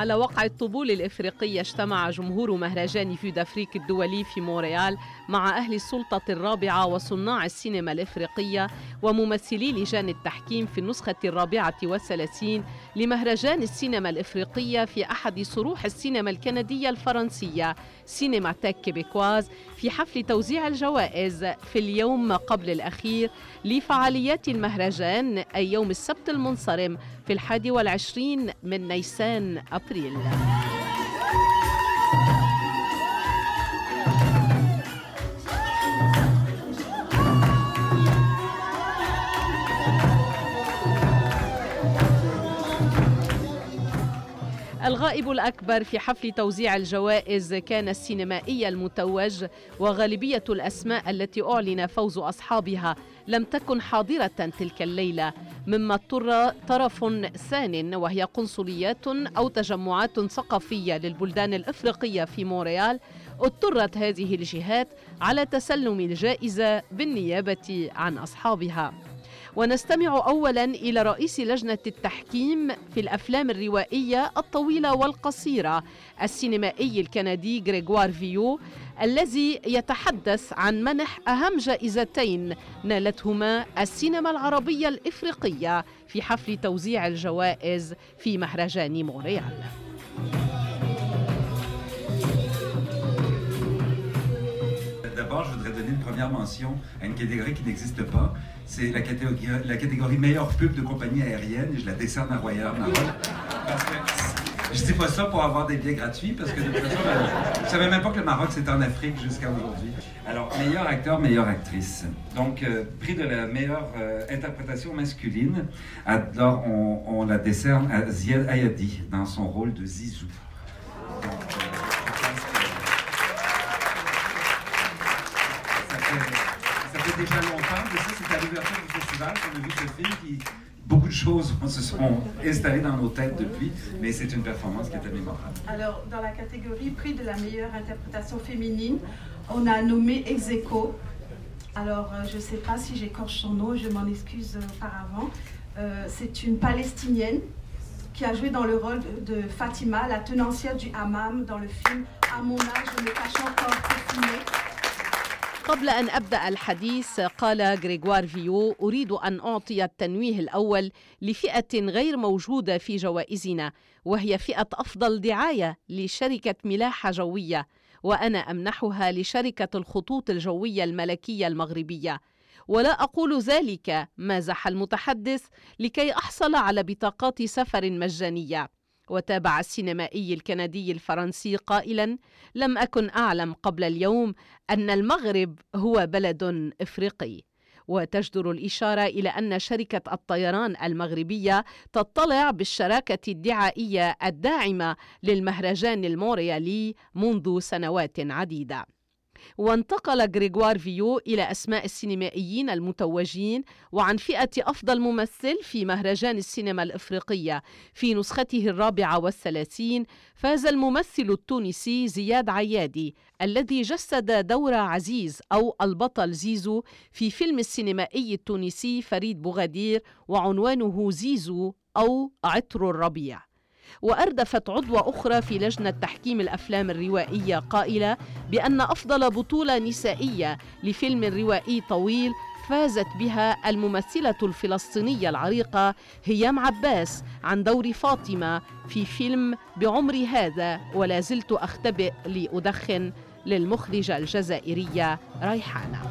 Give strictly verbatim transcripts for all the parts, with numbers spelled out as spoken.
على وقع الطبول الإفريقية اجتمع جمهور مهرجان فيو دافريك الدولي في مونريال مع أهل السلطة الرابعة وصناع السينما الإفريقية وممثلي لجان التحكيم في النسخة الرابعة والثلاثين لمهرجان السينما الإفريقية في أحد صروح السينما الكندية الفرنسية سينماتيك كيبيكواز في حفل توزيع الجوائز في اليوم قبل الأخير لفعاليات المهرجان أي يوم السبت المنصرم في الحادي والعشرين من نيسان أبريل. الغائب الأكبر في حفل توزيع الجوائز كان السينمائي المتوج، وغالبية الأسماء التي أعلن فوز أصحابها لم تكن حاضرة تلك الليلة، مما اضطر طرف ثان وهي قنصليات أو تجمعات ثقافية للبلدان الإفريقية في مونريال، اضطرت هذه الجهات على تسلم الجائزة بالنيابة عن أصحابها. ونستمع أولاً إلى رئيس لجنة التحكيم في الأفلام الروائية الطويلة والقصيرة السينمائي الكندي غريغوار فيو، الذي يتحدث عن منح أهم جائزتين نالتهما السينما العربية الإفريقية في حفل توزيع الجوائز في مهرجان مونريال. D'abord, je voudrais donner une première mention à une catégorie qui n'existe pas. C'est la catégorie, la catégorie meilleure pub de compagnie aérienne. Je la décerne à Royal Maroc. Parce que je dis pas ça pour avoir des billets gratuits, parce que de toute façon, je ne savais même pas que le Maroc c'était en Afrique jusqu'à aujourd'hui. Alors, meilleur acteur, meilleure actrice. Donc, euh, prix de la meilleure euh, interprétation masculine. Alors, on, on la décerne à Ziad Ayadi dans son rôle de Zizou. Ça fait déjà longtemps, mais ça c'est à l'ouverture du festival qu'on a vu ce film qui... Beaucoup de choses se sont installées dans nos têtes depuis, mais c'est une performance qui était mémorable. Alors, dans la catégorie prix de la meilleure interprétation féminine, on a nommé Ex Aequo. Alors, je ne sais pas si j'écorche son nom, je m'en excuse auparavant. Euh, c'est une Palestinienne qui a joué dans le rôle de, de Fatima, la tenancière du hammam dans le film À mon âge, je me cache encore parfumée. قبل أن أبدأ الحديث قال غريغوار فيو: أريد أن أعطي التنويه الأول لفئة غير موجودة في جوائزنا، وهي فئة أفضل دعاية لشركة ملاحة جوية، وأنا أمنحها لشركة الخطوط الجوية الملكية المغربية. ولا أقول ذلك، مازح المتحدث، لكي أحصل على بطاقات سفر مجانية. وتابع السينمائي الكندي الفرنسي قائلاً: لم أكن أعلم قبل اليوم أن المغرب هو بلد إفريقي. وتجدر الإشارة إلى أن شركة الطيران المغربية تطلع بالشراكة الدعائية الداعمة للمهرجان المونريالي منذ سنوات عديدة. وانتقل غريغوار فيو إلى أسماء السينمائيين المتوجين وعن فئة أفضل ممثل في مهرجان السينما الإفريقية في نسخته الرابعة والثلاثين. فاز الممثل التونسي زياد عيادي الذي جسد دور عزيز أو البطل زيزو في فيلم السينمائي التونسي فريد بوغدير وعنوانه زيزو أو عطر الربيع. وأردفت عضوة أخرى في لجنة تحكيم الأفلام الروائية قائلة بأن أفضل بطولة نسائية لفيلم روائي طويل فازت بها الممثلة الفلسطينية العريقة هيام عباس عن دور فاطمة في فيلم بعمري هذا ولا زلت أختبئ لأدخن للمخرجة الجزائرية ريحانة.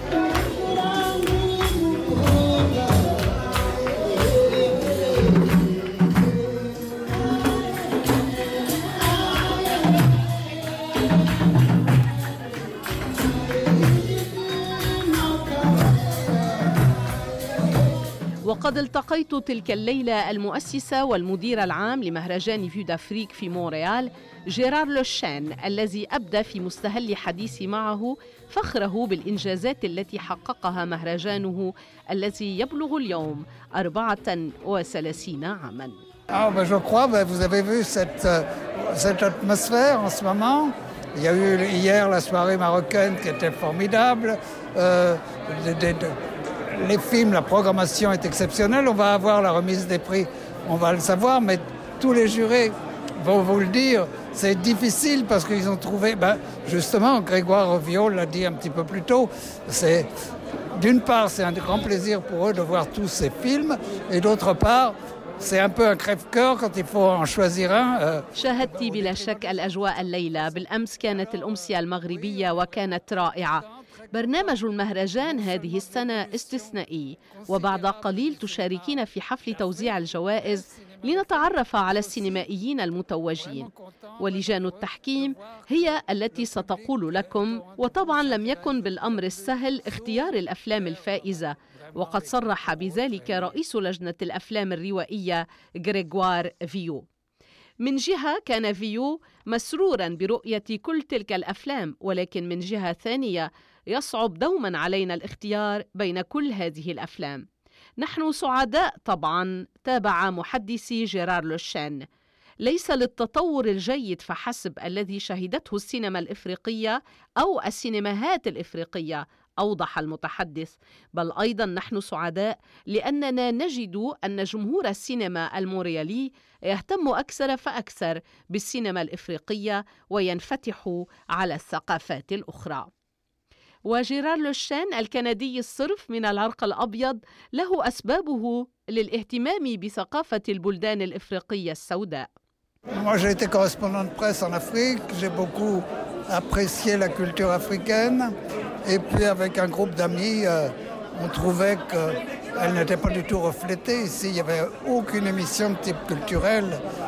وقد التقيت تلك الليلة المؤسسة والمدير العام لمهرجان فيو دافريك في مونريال جيرار لوشان، الذي أبدى في مستهل حديثي معه فخره بالإنجازات التي حققها مهرجانه الذي يبلغ اليوم أربعة وثلاثين عاماً. Ah, ben, je crois, ben, vous avez vu cette, cette atmosphère en ce moment. Il y a eu hier la soirée marocaine qui était formidable. Euh, de, de, de, les films, la programmation est exceptionnelle. On va avoir la remise des prix, on va le savoir, mais tous les jurés vont vous le dire, c'est difficile parce qu'ils ont trouvé, ben, justement, Grégoire Viau l'a dit un petit peu plus tôt, c'est, d'une part, c'est un grand plaisir pour eux de voir tous ces films, et d'autre part, c'est un peu un crève-cœur quand il faut en choisir un. شاهدت بلا شك الأجواء الليلة. بالأمس كانت الأمسية المغربية وكانت رائعة. برنامج المهرجان هذه السنة استثنائي، وبعد قليل تشاركين في حفل توزيع الجوائز لنتعرف على السينمائيين المتوجين، ولجان التحكيم هي التي ستقول لكم. وطبعا لم يكن بالأمر السهل اختيار الأفلام الفائزة، وقد صرح بذلك رئيس لجنة الأفلام الروائية غريغوار فيو. من جهة كان فيو مسرورا برؤية كل تلك الأفلام، ولكن من جهة ثانية يصعب دوما علينا الاختيار بين كل هذه الأفلام. نحن سعداء طبعا، تابع محدثي جيرار لوشان، ليس للتطور الجيد فحسب الذي شهدته السينما الإفريقية أو السينماهات الإفريقية، أوضح المتحدث، بل أيضا نحن سعداء لأننا نجد أن جمهور السينما الموريالي يهتم أكثر فأكثر بالسينما الإفريقية وينفتح على الثقافات الأخرى. وجيرار لوشان الكندي الصرف من العرق الأبيض له أسبابه للاهتمام بثقافة البلدان الإفريقية السوداء. Moi, j'ai été correspondant de presse en Afrique. J'ai beaucoup apprécié la culture africaine. Et puis, avec un groupe d'amis, euh, on trouvait qu'elle n'était pas du tout reflétée. Ici, il n'y avait aucune émission de type culturel.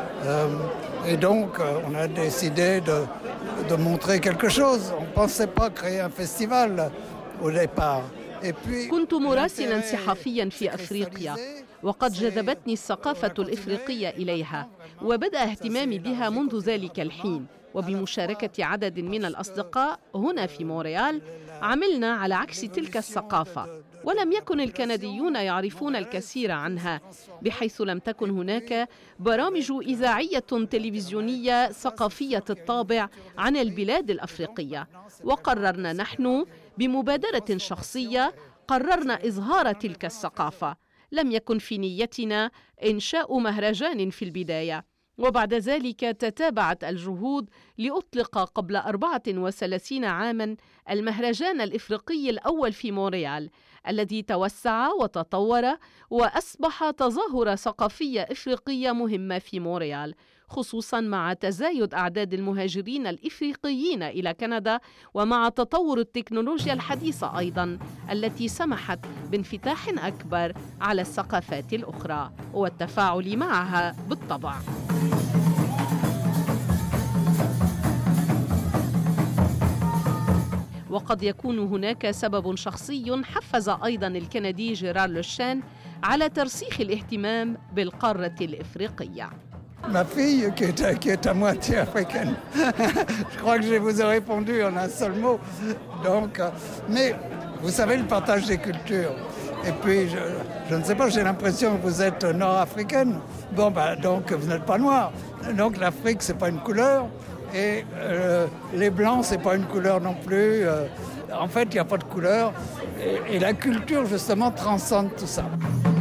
Euh, et donc, euh, on a décidé de, de montrer quelque chose. On ne pensait pas créer un festival au départ. Et puis, كنت مراسلا صحفيا في أفريقيا، وقد جذبتني الثقافة الإفريقية إليها، وبدأ اهتمامي بها منذ ذلك الحين. وبمشاركة عدد من الأصدقاء هنا في مونريال عملنا على عكس تلك الثقافة، ولم يكن الكنديون يعرفون الكثير عنها، بحيث لم تكن هناك برامج إذاعية تلفزيونية ثقافية الطابع عن البلاد الأفريقية. وقررنا نحن بمبادرة شخصية، قررنا إظهار تلك الثقافة. لم يكن في نيتنا إنشاء مهرجان في البداية، وبعد ذلك تتابعت الجهود لأطلق قبل أربعة وثلاثين عاماً المهرجان الإفريقي الأول في مونريال، الذي توسع وتطور وأصبح تظاهرة ثقافية إفريقية مهمة في مونريال، خصوصاً مع تزايد أعداد المهاجرين الإفريقيين إلى كندا، ومع تطور التكنولوجيا الحديثة أيضاً التي سمحت بانفتاح أكبر على الثقافات الأخرى والتفاعل معها بالطبع. وقد يكون هناك سبب شخصي حفز أيضاً الكندي جيرار لوشان على ترسيخ الاهتمام بالقارة الإفريقية. Ma fille, qui est, qui est à moitié africaine, je crois que je vous ai répondu en un seul mot. Donc, mais vous savez, le partage des cultures. Et puis, je, je ne sais pas, j'ai l'impression que vous êtes nord-africaine. Bon, ben, donc, vous n'êtes pas noir. Donc, l'Afrique, c'est pas une couleur. Et euh, les blancs, c'est pas une couleur non plus. Euh, en fait, il n'y a pas de couleur. Et, et la culture, justement, transcende tout ça.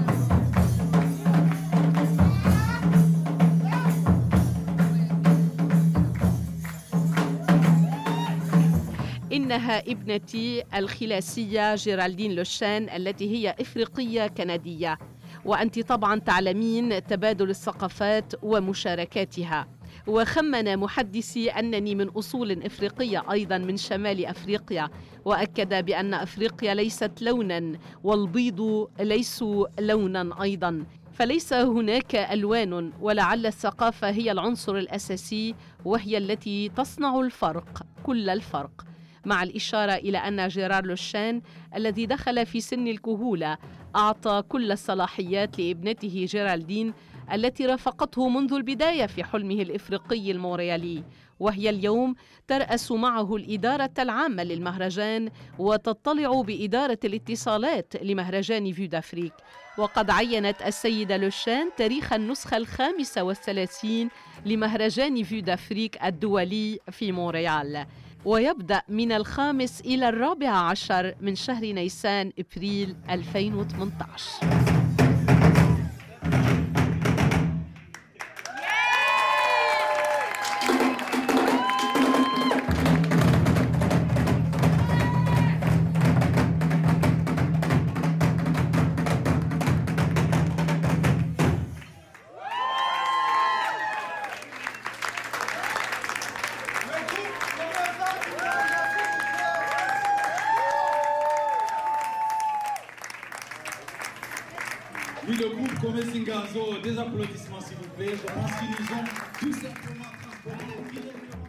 إنها ابنتي الخلاسية جيرالدين لوشان التي هي إفريقية كندية، وأنت طبعا تعلمين تبادل الثقافات ومشاركاتها. وخمن محدثي أنني من أصول إفريقية أيضا من شمال أفريقيا، وأكد بأن أفريقيا ليست لونا والبيض ليسوا لونا أيضا، فليس هناك ألوان، ولعل الثقافة هي العنصر الأساسي وهي التي تصنع الفرق، كل الفرق. مع الإشارة إلى أن جيرار لوشان الذي دخل في سن الكهولة أعطى كل الصلاحيات لابنته جيرالدين التي رافقته منذ البداية في حلمه الإفريقي المونريالي، وهي اليوم ترأس معه الإدارة العامة للمهرجان وتطلع بإدارة الاتصالات لمهرجان فيو دافريك. وقد عينت السيدة لوشان تاريخ النسخة الخامسة والثلاثين لمهرجان فيو دافريك الدولي في مونريال، ويبدأ من الخامس إلى الرابع عشر من شهر نيسان إبريل ألفين وثمانية عشر. Oui, le groupe Comé Singazo, des applaudissements s'il vous plaît. Je pense qu'ils nous ont tout simplement transportés directement.